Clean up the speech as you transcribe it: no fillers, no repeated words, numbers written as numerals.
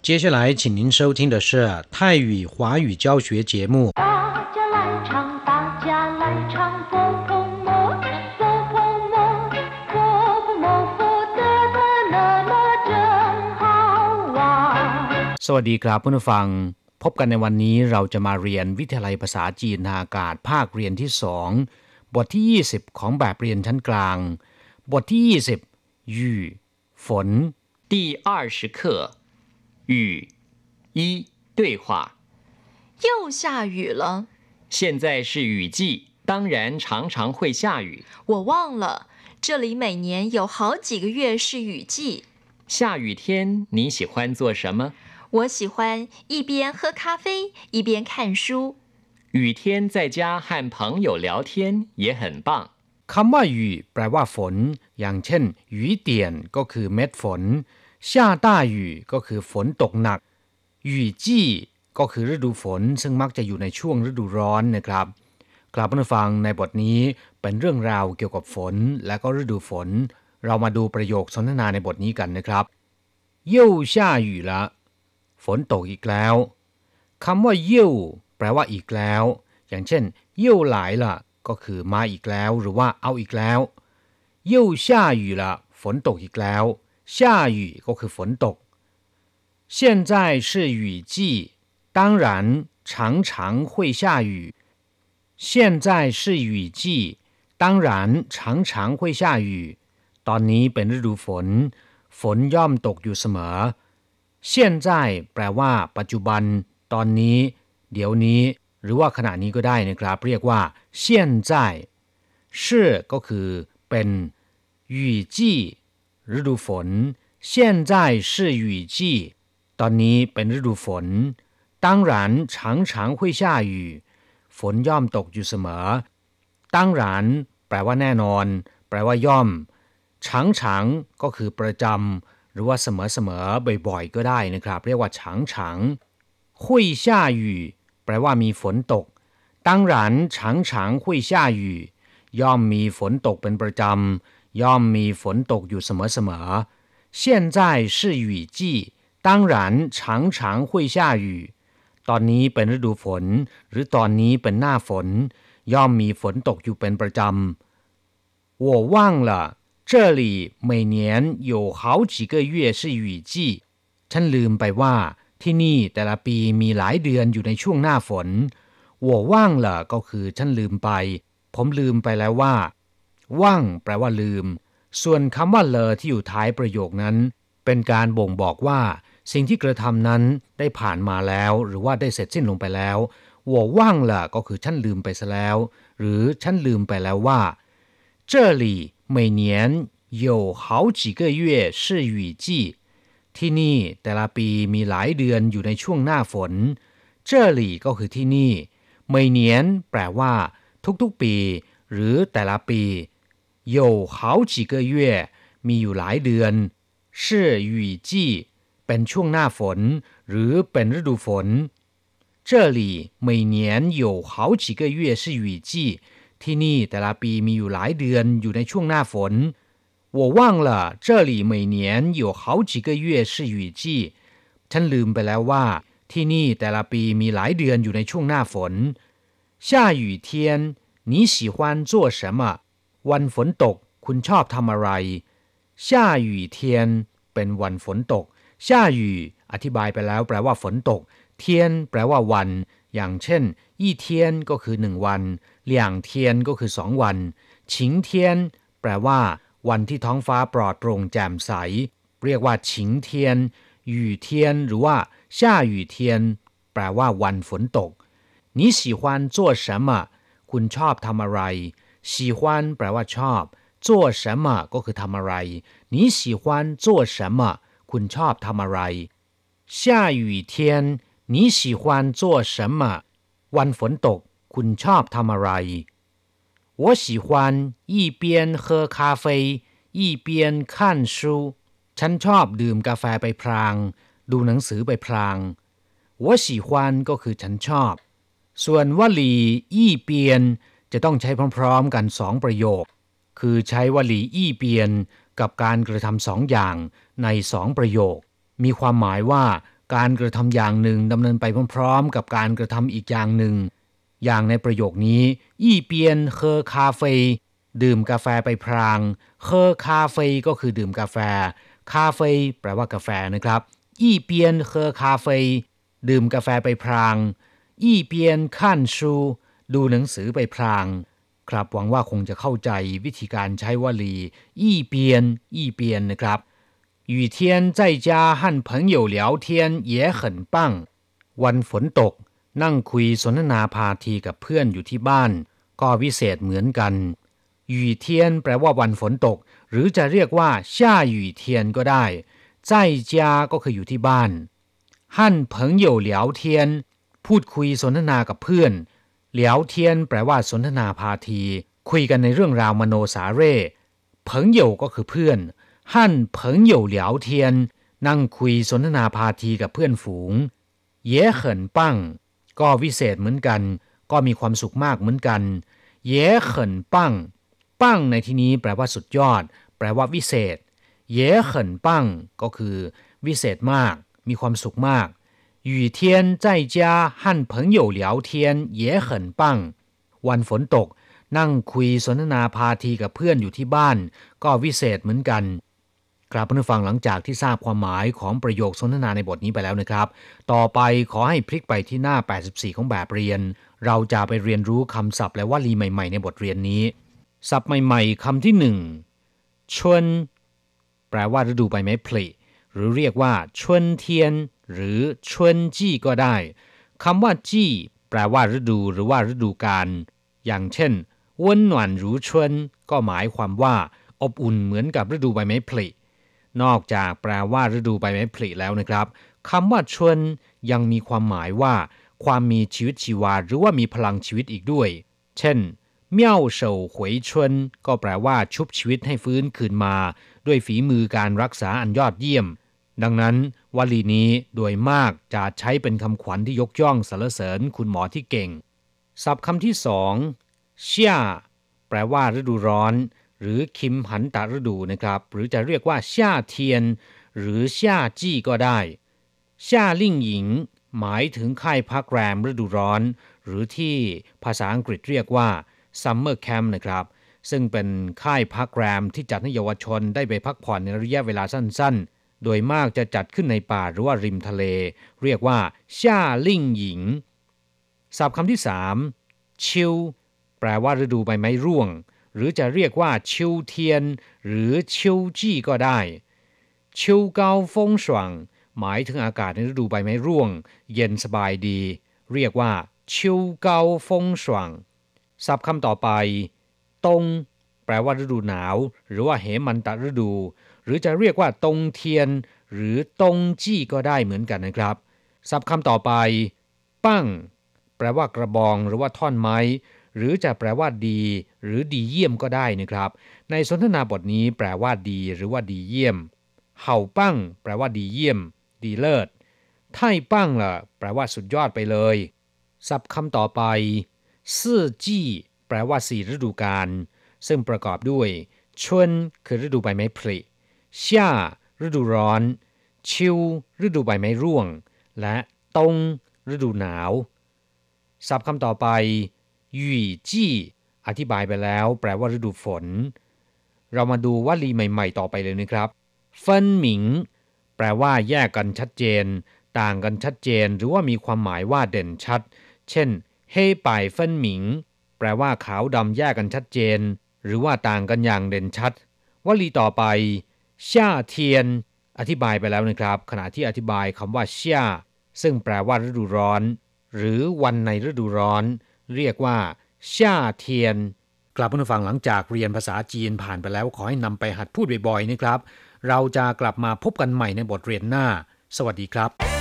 接下来请您收听的是泰语华语教学节目。 大家来唱，大家来唱，佛婆摩，佛婆摩，佛婆摩，佛得的那麼真好玩。 สวัสดีครับผู้ฟังพบกันในวันนี้เราจะมาเรียนวิทยาลัยภาษาจีนทางอากาศภาคเรียนที่2บทที่20ของแบบเรียนชั้นกลางบทที่20雨ฝน第20課雨一對話又下雨了。 現在是雨季，當然常常會下雨。 我忘了，這裡每年有好幾個月是雨季。 下雨天你喜歡做什麼？ 我喜歡一邊喝咖啡一邊看書。 雨天在家和朋友聊天也很棒。 คำว่า雨แปลว่าฝนอย่างเช่น雨點ก็คือเม็ดฝน下大雨ก็คือฝนตกหนัก雨季ก็คือฤดูฝนซึ่งมักจะอยู่ในช่วงฤดูร้อนนะครับกลับมาฟังในบทนี้เป็นเรื่องราวเกี่ยวกับฝนและก็ฤดูฝนเรามาดูประโยคสนทนาในบทนี้กันนะครับ又下雨了ฝนตกอีกแล้วคำว่า又แปลว่าอีกแล้วอย่างเช่น又来了ก็คือมาอีกแล้วหรือว่าเอาอีกแล้ว又下雨了ฝนตกอีกแล้ว下雨ก็คือฝนตก现在是雨季當然常常會下雨現在是雨季當然常常會下雨ตอนนี้เป็นฤดูฝนฝนย่อมตกอยู่เสมอ现在แปลว่าปัจจุบันตอนนี้เดี๋ยวนี้หรือว่าขณะนี้ก็ได้นะครับเรียกว่า现在是ก็คือเป็น雨季ฤดูฝน现在是雨季ตอนนี้เป็นฤดูฝน當然常常會下雨ฝนย่อมตกอยู่เสมอ當然แปลว่าแน่นอนแปลว่าย่อม常常ก็คือประจำหรือว่าเสมอๆบ่อยๆก็ได้นะครับเรียกว่า常常會下雨แปลว่ามีฝนตก當然常常會下雨ย่อมมีฝนตกเป็นประจำย่อมมีฝนตกอยู่เสมอๆ现在是雨季當然常常會下雨ตอนนี้เป็นฤดูฝนหรือตอนนี้เป็นหน้าฝนย่อมมีฝนตกอยู่เป็นประจำ我忘了這裡每年有好幾個月是雨季ฉันลืมไปว่าที่นี่แต่ละปีมีหลายเดือนอยู่ในช่วงหน้าฝน我忘了ก็คือฉันลืมไปผมลืมไปแล้วว่าว่างแปลว่าลืมส่วนคำว่าเลอที่อยู่ท้ายประโยคนั้นเป็นการบ่งบอกว่าสิ่งที่กระทำนั้นได้ผ่านมาแล้วหรือว่าได้เสร็จสิ้นลงไปแล้ว我忘了ก็คือฉันลืมไปซะแล้วหรือฉันลืมไปแล้วว่า這裡每年有好幾個月是雨季ที่นี่แต่ละปีมีหลายเดือนอยู่ในช่วงหน้าฝน這裡ก็คือที่นี่每年แปลว่าทุกๆปีหรือแต่ละปี有好幾個月มีอยู่หลายเดือน是雨季เป็นช่วงหน้าฝนหรือเป็นฤดูฝน這裡每年有好幾個月是雨季ที่นี่แต่ละปีมีอยู่หลายเดือนอยู่ในช่วงหน้าฝน我忘了這裡每年有好幾個月是雨季ฉันลืมไปแล้วว่าที่นี่แต่ละปีมีหลายเดือนอยู่ในช่วงหน้าฝน下雨天你喜歡做什麼วันฝนตกคุณชอบทำอะไร下雨天เป็นวันฝนตก下雨อธิบายไปแล้วแปลว่าฝนตกเทียนแปลว่าวันอย่างเช่น一天ก็คือ1วัน两天ก็คือ2วัน晴天แปลว่าวันที่ท้องฟ้าปลอดโปร่งแจ่มใสเรียกว่า晴天雨天หรือว่า下雨天แปลว่าวันฝนตก你喜歡做什麼คุณชอบทำอะไร喜歡แปลว่าชอบ做什麼ก็คือทำอะไร你喜歡做什麼คุณชอบทำอะไร下雨天你喜歡做什麼วันฝนตกคุณชอบทำอะไร我喜歡一邊喝咖啡一邊看書ฉันชอบดื่มกาแฟไปพลางดูหนังสือไปพลาง我喜歡ก็คือฉันชอบส่วนวลีอี้เปียนจะต้องใช้พร้อมๆกัน2ประโยคคือใช้วลีอี้เปียนกับการกระทำ2อย่างใน2ประโยคมีความหมายว่าการกระทำอย่างหนึ่งดำเนินไปพร้อมๆกับการกระทำอีกอย่างหนึ่งอย่างในประโยคนี้อี้เปียนเคอคาเฟ่ดื่มกาแฟไปพรางเคอคาเฟ่ก็คือดื่มกาแฟคาเฟ่แปลว่ากาแฟนะครับอี้เปียนเคอคาเฟ่ดื่มกาแฟไปพรางอี้เปียนขั้นชูดูหนังสือไปพรางครับหวังว่าคงจะเข้าใจวิธีการใช้วลีอี้เปียนนะครับ雨天在家和朋友聊天也很棒วันฝนตกนั่งคุยสนทนาพาทีกับเพื่อนอยู่ที่บ้านก็วิเศษเหมือนกัน雨天แปลว่าวันฝนตกหรือจะเรียกว่า下雨天ก็ได้在家ก็คืออยู่ที่บ้าน和朋友聊天พูดคุยสนทนากับเพื่อน聊天แปลว่าสนทนาพาทีคุยกันในเรื่องราวมโนสาเร่朋友ก็คือเพื่อน和朋友聊天นั่งคุยสนทนาพาทีกับเพื่อนฝูง也很棒ก็วิเศษเหมือนกันก็มีความสุขมากเหมือนกัน也很棒ปังในที่นี้แปลว่าสุดยอดแปลว่าวิเศษ也很棒ก็คือวิเศษมากมีความสุขมาก雨天在家和朋友聊天也很棒วันฝนตกนั่งคุยสนทนาพาทีกับเพื่อนอยู่ที่บ้านก็วิเศษเหมือนกันครับเพื่อนฟังหลังจากที่ทราบความหมายของประโยคสนทนาในบทนี้ไปแล้วนะครับต่อไปขอให้พลิกไปที่หน้า84ของแบบเรียนเราจะไปเรียนรู้คำศัพท์และวลีใหม่ๆในบทเรียนนี้ศัพท์ใหม่ๆคำที่หนึ่งชวนแปลว่าฤดูใบไม้ผลิหรือเรียกว่าชวนเทียนหรือชวนจี้ก็ได้คำว่าจี้แปลว่าฤดูหรือว่าฤดูกาลอย่างเช่น温暖如春ก็หมายความว่าอบอุ่นเหมือนกับฤดูใบไม้ผลินอกจากแปลว่าฤดูใบไม้ผลิแล้วนะครับคำว่าชวนยังมีความหมายว่าความมีชีวิตชีวาหรือว่ามีพลังชีวิตอีกด้วยเช่นเมี่ยวเฉาหวยชวนก็แปลว่าชุบชีวิตให้ฟื้นคืนมาด้วยฝีมือการรักษาอันยอดเยี่ยมดังนั้นวลีนี้โดยมากจะใช้เป็นคำขวัญที่ยกย่องสรรเสริญคุณหมอที่เก่งศัพท์คำที่สองเชี่ยแปลว่าฤดูร้อนหรือคิมหันตะฤดูนะครับหรือจะเรียกว่า夏天หรือ夏季ก็ได้夏令营หมายถึงค่ายพักแรมฤดูร้อนหรือที่ภาษาอังกฤษเรียกว่า Summer Camp นะครับซึ่งเป็นค่ายพักแรมที่จัดให้เยาวชนได้ไปพักผ่อนในระยะเวลาสั้นๆโดยมากจะจัดขึ้นในป่าหรือว่าริมทะเลเรียกว่า夏令营ศัพท์คำที่สามชิวแปลว่าฤดูใบไม้ร่วงหรือจะเรียกว่าชิวเทียนหรือชิวจี้ก็ได้ชิวเกาฟงสว่างหมายถึงอากาศในฤดูใบไม้ร่วงเย็นสบายดีเรียกว่าชิวเกาฟงสว่างศัพท์คำต่อไปตงแปลว่าฤดูหนาวหรือว่าเหมันตะฤดูหรือจะเรียกว่าตงเทียนหรือตงจี้ก็ได้เหมือนกันนะครับศัพท์คำต่อไปปั้งแปลว่ากระบองหรือว่าท่อนไม้หรือจะแปลว่าดีหรือดีเยี่ยมก็ได้นะครับในสนทนาบทนี้แปลว่าดีหรือว่าดีเยี่ยมเห่าปั้งแปลว่าดีเยี่ยมดีเลิศไท่ปั้งล่ะแปลว่าสุดยอดไปเลยศัพท์คำต่อไปซื่อจี้แปลว่า4ฤดูกาลซึ่งประกอบด้วยชวนคือฤดูใบไม้ผลิช่าฤดูร้อนชิวฤดูใบไม้ร่วงและตงฤดูหนาวศัพท์คำต่อไปหยี่จี้อธิบายไปแล้วแปลว่าฤดูฝนเรามาดูวลีใหม่ๆต่อไปเลยนะครับเฟินหมิงแปลว่าแยกกันชัดเจนต่างกันชัดเจนหรือว่ามีความหมายว่าเด่นชัดเช่นเฮ่ป่ายเฟินหมิงแปลว่าขาวดำแยกกันชัดเจนหรือว่าต่างกันอย่างเด่นชัดวลีต่อไปช่าเทียนอธิบายไปแล้วนะครับขณะที่อธิบายคำว่าช่าซึ่งแปลว่าฤดูร้อนหรือวันในฤดูร้อนเรียกว่าช่าเทียนกลับมาฟังหลังจากเรียนภาษาจีนผ่านไปแล้วขอให้นำไปหัดพูดบ่อยๆนะครับเราจะกลับมาพบกันใหม่ในบทเรียนหน้าสวัสดีครับ